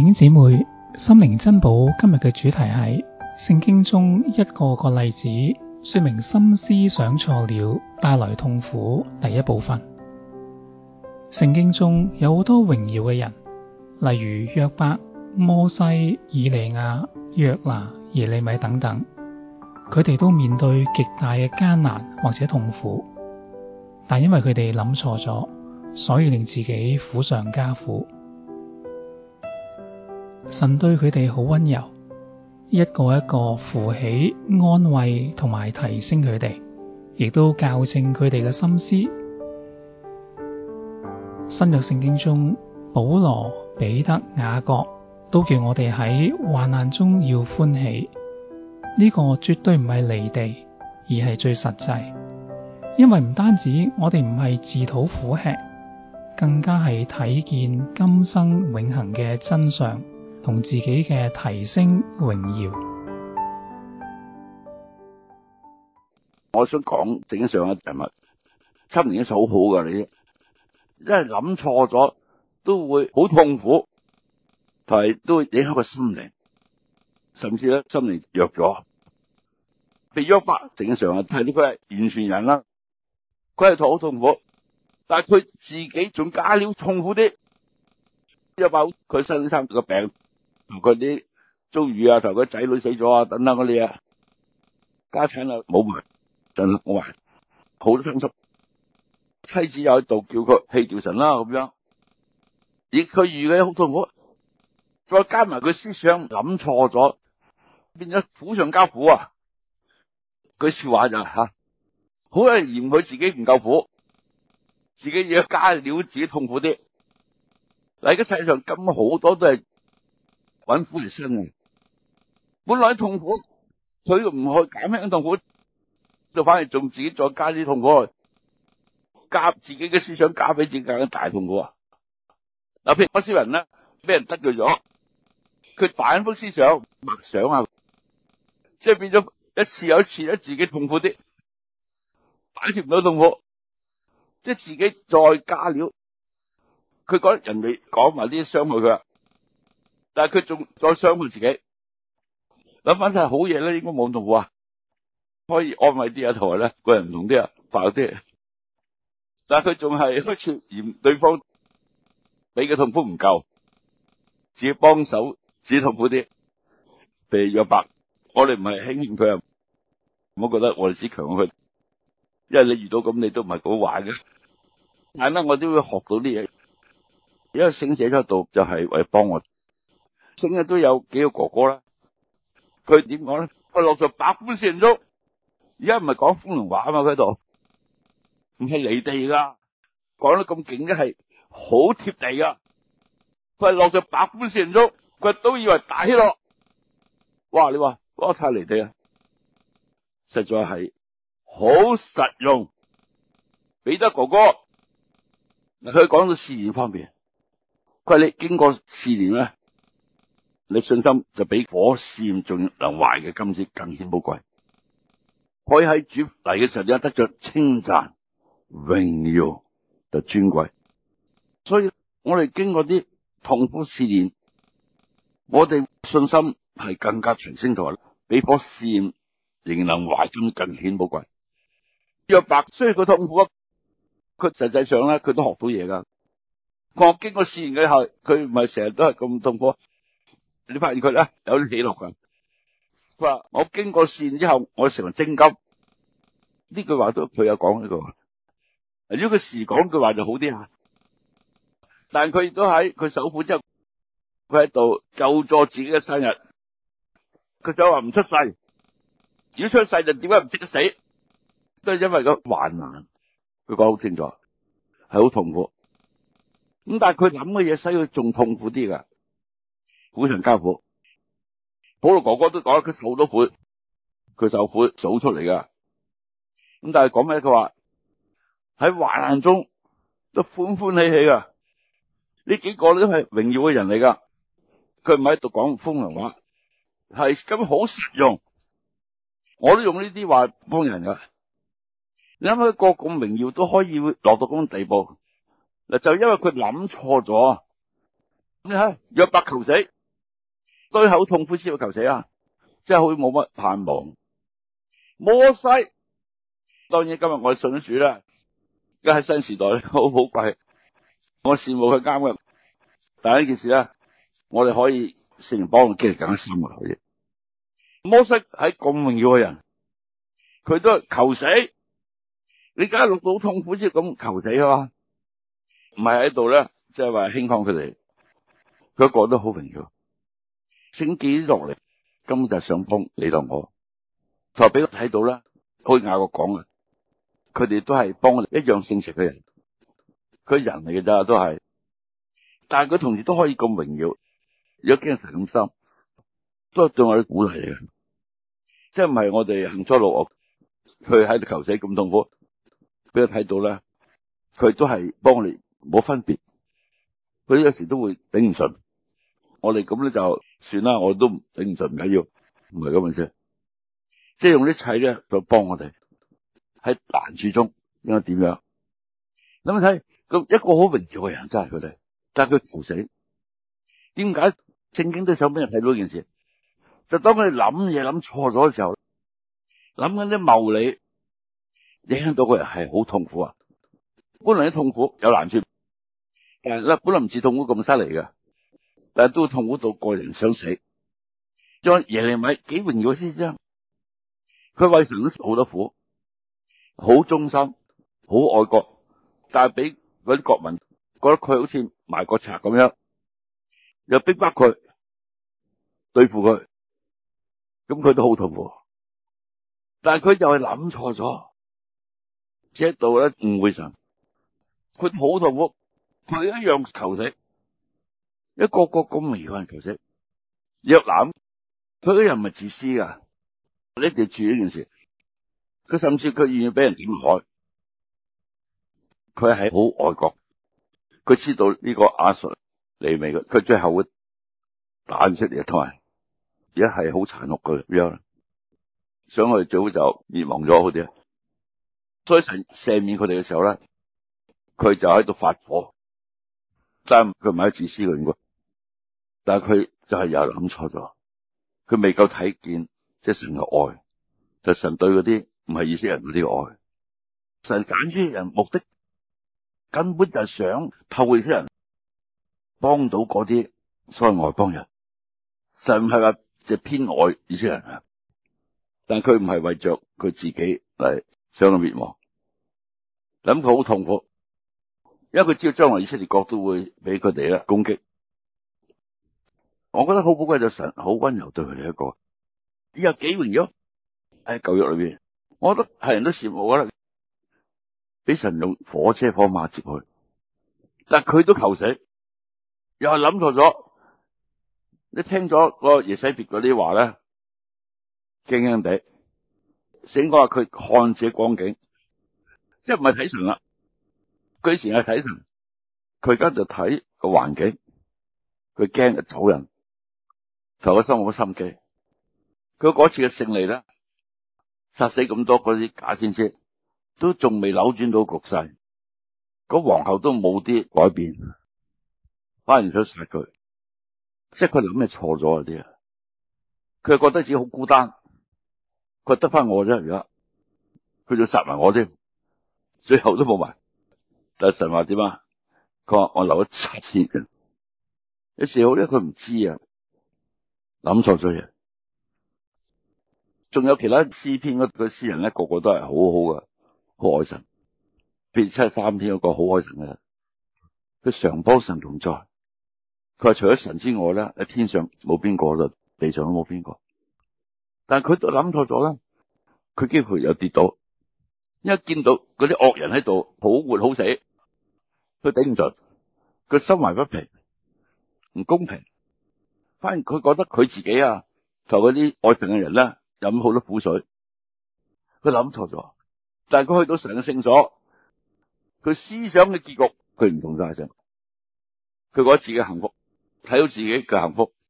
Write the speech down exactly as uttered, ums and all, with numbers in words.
兄姊妹，心靈珍寶今日嘅主題係聖經中一個個例子，說明心思想錯了帶來痛苦。第一部分，聖經中有好多榮耀嘅人，例如約伯、摩西、以利亞、約拿、耶利米等等，佢哋都面對極大嘅艱難或者痛苦，但因為佢哋諗錯咗，所以令自己苦上加苦。神對佢哋好溫柔，一個一個扶起、安慰同埋提升佢哋，亦都校正佢哋嘅心思。新約聖經中，保羅、彼得、雅各都叫我哋喺患難中要歡喜。呢個絕對唔係離地，而係最實際，因為唔單止我哋唔係自討苦吃，更加係睇見今生永恆嘅真相同自己嘅提升榮耀。 我想講正上一人物，心靈好好噶，你因為諗錯咗都會好痛苦，同埋都會影響個心靈，甚至咧心靈弱咗。譬如約伯正上啊，睇到佢係完全人啦，佢係好痛苦，但係佢自己仲加了痛苦啲。約伯佢身生個病，同佢啲遭遇啊，同佢仔女死咗啊，等等嗰啲啊，家產啊冇埋，真係冇埋，好多傷心。妻子又喺度叫佢棄掉神啦咁樣，而佢遇嘅好痛苦，再加埋佢思想諗錯咗，變咗苦上加苦啊！句說話就吓，好多人嫌佢自己唔夠苦，自己要加料自己痛苦啲。嗱，而家世上咁好多都係揾苦嚟辛嘅，本來痛苦，佢唔去減輕痛苦，就反而仲自己再加啲痛苦去，加自己嘅思想加俾自己更加大痛苦啊！嗱，譬如嗰啲人咧，俾人得罪咗，佢反覆思想默想啊，即係變咗一次又一次咧，自己痛苦啲，擺脫唔到痛苦，即係自己再加料。佢覺得人哋講埋啲傷害佢，但係佢仲再傷害自己。諗翻晒好嘢咧，應該冇咁痛苦啊，可以安慰啲啊，同埋咧個人唔同啲啊，快啲。但係佢仲係開始嫌對方俾嘅痛苦唔夠，自己幫手自己痛苦啲。譬如約伯，我哋唔係輕輕佢啊，唔好覺得我哋只強佢，因為你遇到咁你都唔係好壞嘅。但係咧，我都會學到啲嘢。因為聖寫咗度就係為幫我，聖嘅都有幾個哥哥啦。佢點講咧？佢落在百般試煉中，而家唔係講風涼話啊嘛，佢度唔係離地噶，講得咁勁嘅係好貼地噶。佢係落在百般試煉中，佢都以為大喜樂。哇！你話哇太離地啊，實在係好實用。彼得哥哥嗱，佢講到試驗方面。佢話你經過試煉咧，你信心就比火試驗仲能壞嘅金子更顯寶貴，可以喺主嚟嘅時候，你得着稱讚、榮耀就尊貴。所以我哋經過啲痛苦試煉，我哋信心係更加提升咗，比火試驗仍能壞金更顯寶貴。約伯雖然佢痛苦，佢實際上咧佢都學到嘢噶。我經過試驗嘅後，佢唔係成日都係咁痛苦。你發現佢咧有啲喜樂噶。佢話我經過試驗之後，我成為精金。呢句話都佢有講呢句話。如果佢時講句話就好啲吓，但係佢亦都喺佢受苦之後，佢喺度就助自己嘅生日。佢想話唔出世，如果出世就點解唔即刻死？都係因為個患難。佢講好清楚，係好痛苦。咁但係佢諗嘅嘢使佢仲痛苦啲噶，苦上加苦。保羅哥哥都講，佢受好多苦，佢受苦數出嚟噶。咁但係講咩？佢話喺患難中都歡歡喜喜噶。呢幾個都係榮耀嘅人嚟噶，佢唔係喺度講風涼話，係咁好實用。我都用呢啲話幫人噶。你諗下一個咁榮耀都可以落到咁嘅地步。嗱，就因為佢諗錯咗， 你睇約伯求死，對口痛苦先會求死啊！真係好冇乜盼望。摩西當然今日我哋信咗主啦，而家喺新時代好寶貴，我羨慕佢啱嘅。但係呢件事咧，我哋可以聖靈幫我經歷更加深嘅可以。摩西喺咁榮耀嘅人，佢都係求死。你梗係錄到痛苦先咁求死啊嘛？唔係喺度咧，即係話輕看佢哋，佢個個都好榮耀。聖經落嚟根本就係想幫你同我，就俾我睇到啦。好似雅各講嘅，佢哋都係幫我哋一樣聖潔嘅人，佢人嚟嘅咋都係，但係佢同時都可以咁榮耀，如果經神咁深，都係對我啲鼓勵嚟嘅。即係唔係我哋行錯路，佢喺度求死咁痛苦，俾佢睇到咧，佢都係幫我哋冇分別。佢有時都會頂唔順，我哋咁咧就算啦，我都頂唔順唔緊要，唔係咁嘅事。即係用一切咧，就幫我哋喺難處中應該點樣？諗睇咁一個好榮耀嘅人，真係佢哋，但係佢求死。點解聖經都想俾人睇到呢件事？就當佢哋諗嘢諗錯咗嘅時候，諗緊啲謬理，影響到個人係好痛苦啊！本來啲痛苦有難處，但係咧本來唔似痛苦咁犀利嘅，但係都痛苦到個人想死。將耶利米幾榮耀嘅先知，佢為神都好多苦，好忠心，好愛國，但係俾嗰啲國民覺得佢好似埋國賊咁樣，又逼迫佢，對付佢，咁佢都好痛苦。但係佢就係諗錯咗，只喺度咧誤會神，佢好痛苦，佢一樣求死，一個個咁榮耀嘅人求死。約拿佢嗰人唔係自私噶，你一定要注意呢件事。佢甚至佢願意俾人點害，佢係好愛國，佢知道呢個亞述利未嘅，佢最後會打以色列同埋，而家係好殘酷嘅樣，想佢最好就滅亡咗好啲。所以神赦免佢哋嘅時候咧，佢就喺度發火，但係佢唔係自私嘅應該，但係佢就係又諗錯咗，佢未夠睇見即係神嘅愛，就係神對嗰啲唔係以色列人嗰啲愛。神揀出人目的根本就係想透過以色列人幫到嗰啲所謂外邦人。神唔係話就偏愛以色列人啊，但係佢唔係為着佢自己嚟想到滅亡，諗佢好痛苦，因為佢知道將來以色列國都會俾佢哋咧攻擊。我覺得好寶貴就神好溫柔對佢哋一個，依有幾榮耀喺舊約裏邊，我覺得係人都羨慕，我覺得俾神用火車火馬接佢，但係佢都求死，又係諗錯咗。你聽咗個耶洗別嗰啲話咧，驚驚地，醒講話佢看自己光景，即係唔係睇神啦。佢以前係睇神，佢而家就睇個環境，佢驚就走人，投個心冇心機。佢嗰次嘅勝利咧，殺死咁多嗰啲假先知，都仲未扭轉到局勢，嗰皇后都冇啲改變，反而想殺佢。即係佢諗咩錯咗嗰啲啊？佢覺得自己好孤單，佢得翻我啫，而家佢就殺埋我添，最後都冇埋。但係神話點啊？佢話我留咗七千人，有時好咧，佢唔知啊，諗錯咗嘢。仲有其他詩篇嗰個詩人咧，個個都係好好噶，好愛神。譬如七十三篇嗰個好愛神嘅，佢常幫神同在。佢話除咗神之外咧，喺天上冇邊個，就地上都冇邊個。但係佢都諗錯咗啦，佢幾乎有跌倒，因為見到嗰啲惡人喺度好活好死，佢頂唔順，佢心懷不平，唔公平。反而佢覺得佢自己啊，同嗰啲愛神嘅人咧飲好多苦水，佢諗錯咗。但係佢去到神嘅聖所，佢思想嘅結局佢唔同晒，佢覺得自己幸福。睇到自己嘅幸福，